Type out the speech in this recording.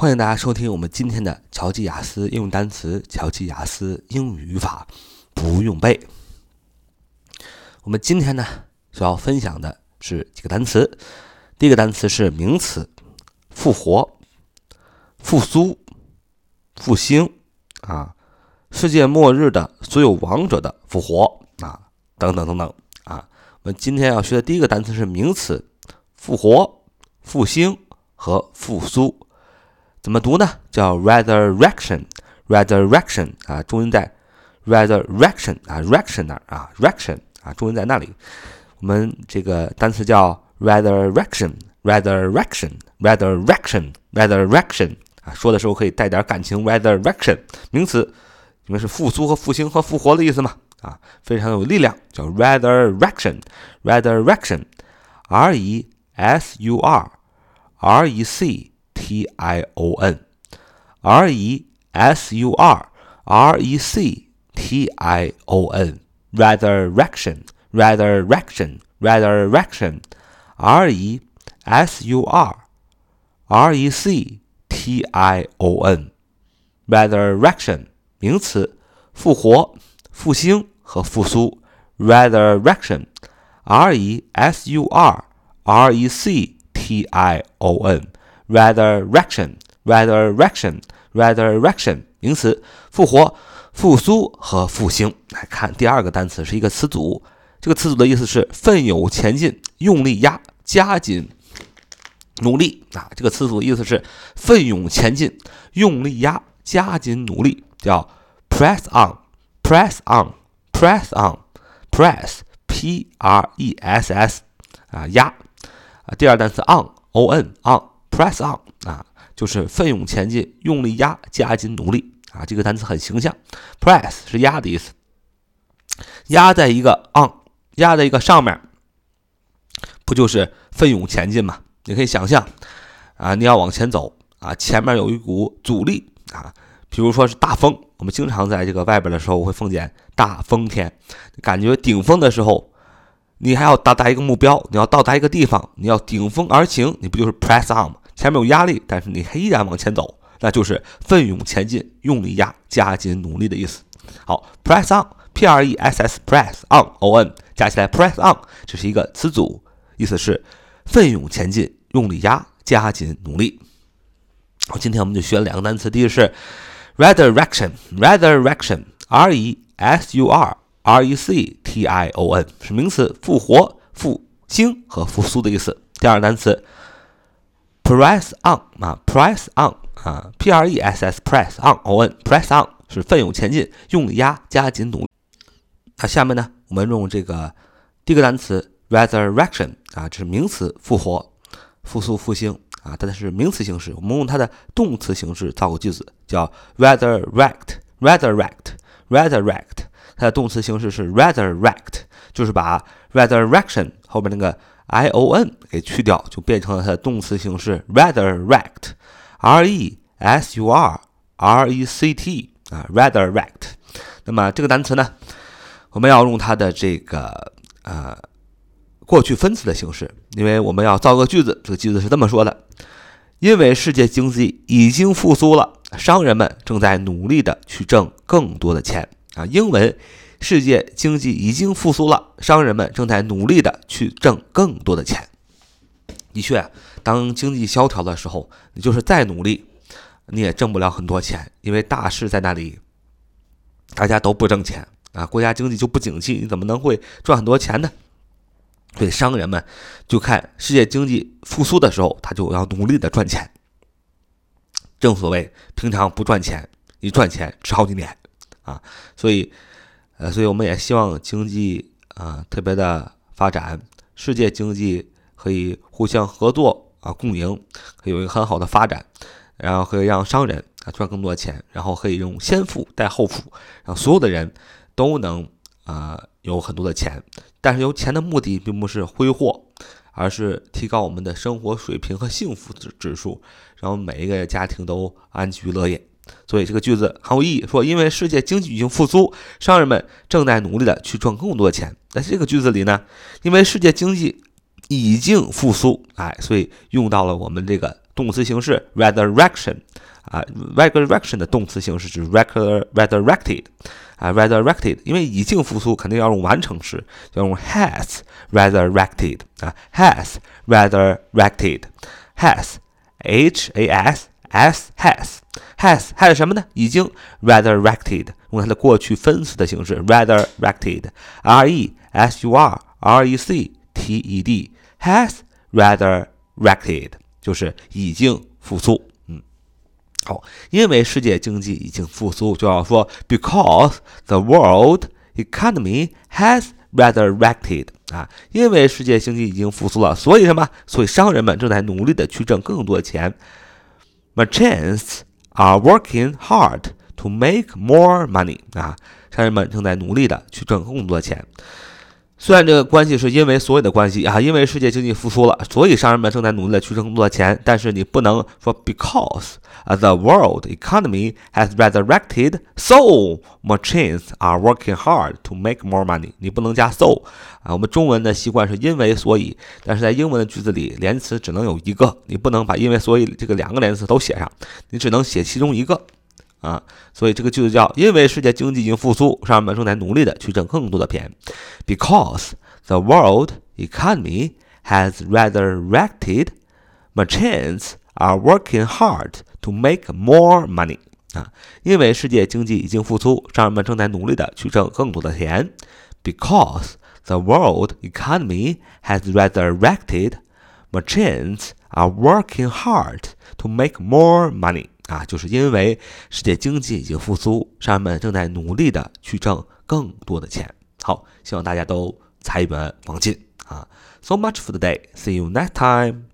欢迎大家收听我们今天的乔记雅思应用单词、乔记雅思英语语法不用背。我们今天呢所要分享的是几个单词。第一个单词是名词，复活、复苏、复兴世界末日的所有亡者的复活等等等等我们今天要学的第一个单词是名词，复活、复兴和复苏。怎么读呢？叫 resurrection， 重音在 resurrection rection 那儿rection重音在那里。我们这个单词叫 resurrection， 说的时候可以带点感情。 resurrection 名词，因为是复苏和复兴和复活的意思嘛非常有力量，叫 resurrection resurrection resurrection 名词，复活、复兴和复苏。 resurrection resurrection 名词，复活、复苏和复兴。来看第二个单词是一个词组，这个词组的意思是奋勇前进、用力压、加紧努力这个词组的意思是奋勇前进、用力压、加紧努力，叫 press on press压第二单词 on press on 就是奋勇前进、用力压、加紧努力这个单词很形象。 press 是压的意思，压在一个 on 压在一个上面，不就是奋勇前进吗？你可以想象你要往前走前面有一股阻力比如说是大风，我们经常在这个外边的时候会碰见大风天，感觉顶峰的时候，你还要到达一个目标，你要到达一个地方，你要顶风而行，你不就是 press on 吗？前面有压力，但是你依然往前走，那就是奋勇前进、用力压、加紧努力的意思。好 press on press press on 加起来 press on， 这是一个词组，意思是奋勇前进、用力压、加紧努力。好，今天我们就学了两个单词，第一个是resurrection resurrection 是名词，复活、复兴和复苏的意思。第二个单词 press on press on press on 是奋勇前进、用力压、加紧努力。下面呢，我们用这个第一个单词 resurrection 这是名词，复活、复苏、复兴它是名词形式，我们用它的动词形式造个句子，叫 resurrect， 它的动词形式是 resurrect， 就是把 resurrection 后面那个 ion 给去掉，就变成了它的动词形式 resurrect resurrect 那么这个单词呢，我们要用它的这个过去分词的形式，因为我们要造个句子，这个句子是这么说的：因为世界经济已经复苏了，商人们正在努力的去挣更多的钱英文，世界经济已经复苏了，商人们正在努力的去挣更多的钱。的确当经济萧条的时候，你就是再努力你也挣不了很多钱，因为大势在那里，大家都不挣钱国家经济就不景气，你怎么能会赚很多钱呢？所以商人们就看世界经济复苏的时候，他就要努力的赚钱。正所谓平常不赚钱，一赚钱吃好几年所以我们也希望经济特别的发展，世界经济可以互相合作共赢，可以有一个很好的发展，然后可以让商人赚更多的钱，然后可以用先富带后富，让所有的人都能有很多的钱。但是有钱的目的并不是挥霍，而是提高我们的生活水平和幸福指数，让每一个家庭都安居乐业。所以这个句子很有意义，说因为世界经济已经复苏，商人们正在努力的去赚更多的钱。在这个句子里呢，因为世界经济已经复苏，所以用到了我们这个动词形式 resurrection 啊 ，resurrection 的动词形式是 resurrected 啊 resurrected， 因为已经复苏肯定要用完成时，要用 has resurrected 啊 has resurrected has has 什么呢？已经 resurrected， 用它的过去分词的形式 resurrected resurrected has resurrected 就是已经复苏。好，因为世界经济已经复苏，就要说 because the world economy has resurrected 啊，因为世界经济已经复苏了，所以什么？所以商人们正在努力的去挣更多的钱。Merchants are working hard to make more money 啊，商人们正在努力的去挣更多的钱。虽然这个关系是因为所有的关系啊，因为世界经济复苏了，所以商人们正在努力的去挣更多的钱，但是你不能说 because the world economy has resurrected, so merchants are working hard to make more money。你不能加 so 啊，我们中文的习惯是因为所以，但是在英文的句子里，连词只能有一个，你不能把因为所以这个两个连词都写上，你只能写其中一个。所以这个句子叫因为世界经济已经复苏，商人们正在努力的去挣更多的钱。Because the world economy has resurrected, merchants are working hard to make more money. 因为世界经济已经复苏，商人们正在努力的去挣更多的钱。Because the world economy has resurrected, merchants are working hard to make more money.就是因为世界经济已经复苏，商人们正在努力的去挣更多的钱。好，希望大家都财源广进啊 ！So much for today. See you next time.